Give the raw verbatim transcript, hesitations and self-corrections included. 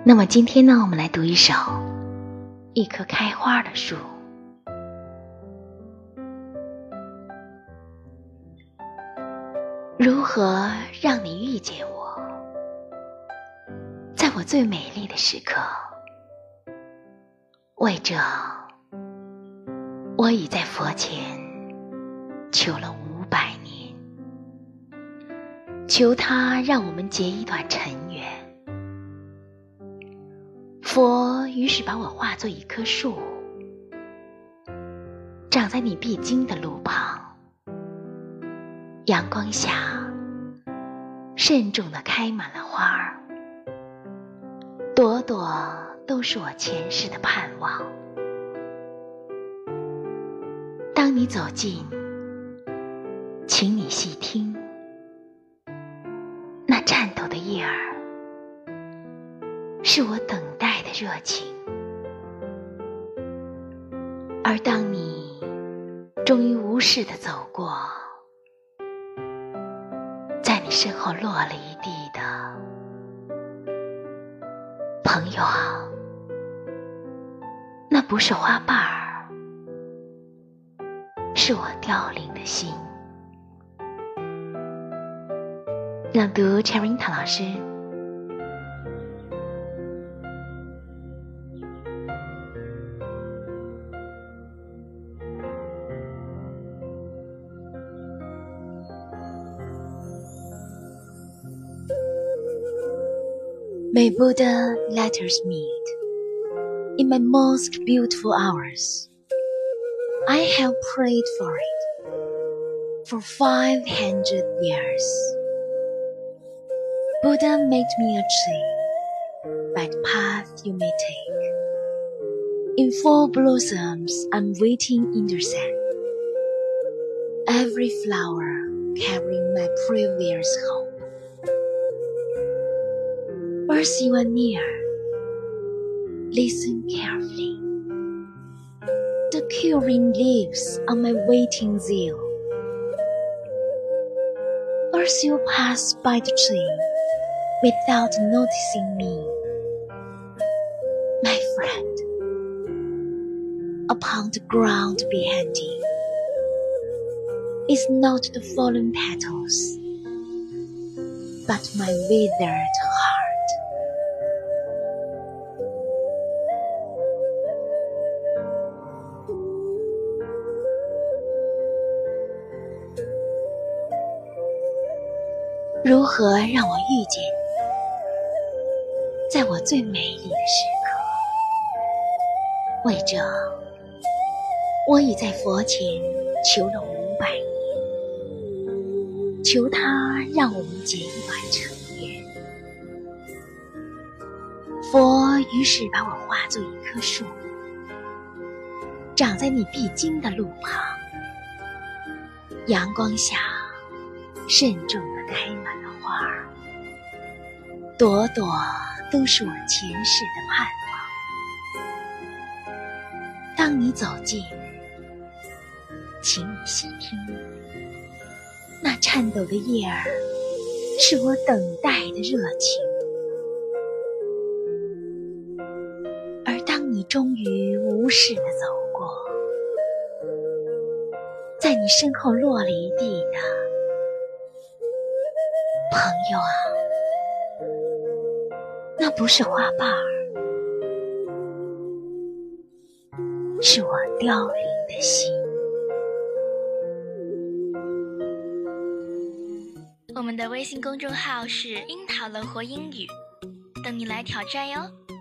那么今天呢，我们来读一首一棵开花的树。如何让你遇见我，在我最美丽的时刻？为这，我已在佛前求了五百年，求他让我们结一段尘缘。佛于是把我化作一棵树，长在你必经的路旁，阳光下慎重地开满了花儿，朵朵都是我前世的盼望。当你走近，请你细听，那颤抖的叶儿是我等待的热情。而当你终于无视地走过，在你身后落了一地的朋友啊，那不是花瓣儿，是我凋零的心。朗读 Cherinta 老师。May Buddha let us meet in my most beautiful hours. I have prayed for it for five hundred years. Buddha made me a tree by the path you may take. In full blossoms I'm waiting in the sun. Every flower carrying my previous hope. As you are near, listen carefully. The quivering leaves on my waiting zeal. As you pass by the tree without noticing me, my friend, upon the ground behind you is not the fallen petals, but my withered heart. 如何让我遇见你，在我最美丽的时刻？为这，我已在佛前求了五百年，求他让我们结一段尘缘。佛于是把我化作一棵树，长在你必经的路旁，阳光下慎重地开满了花儿，朵朵都是我前世的盼望。当你走近，请你细听，那颤抖的叶儿是我等待的热情。而当你终于无视地走过，在你身后落了一地的朋友啊，那不是花瓣儿，是我凋零的心。 我们的微信公众号是樱桃乐活英语，等你来挑战哟。